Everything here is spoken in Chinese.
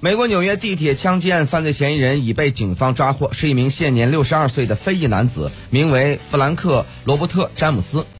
美国纽约地铁枪击案犯罪嫌疑人已被警方抓获，是一名现年62岁的非裔男子，名为弗兰克·罗伯特·詹姆斯。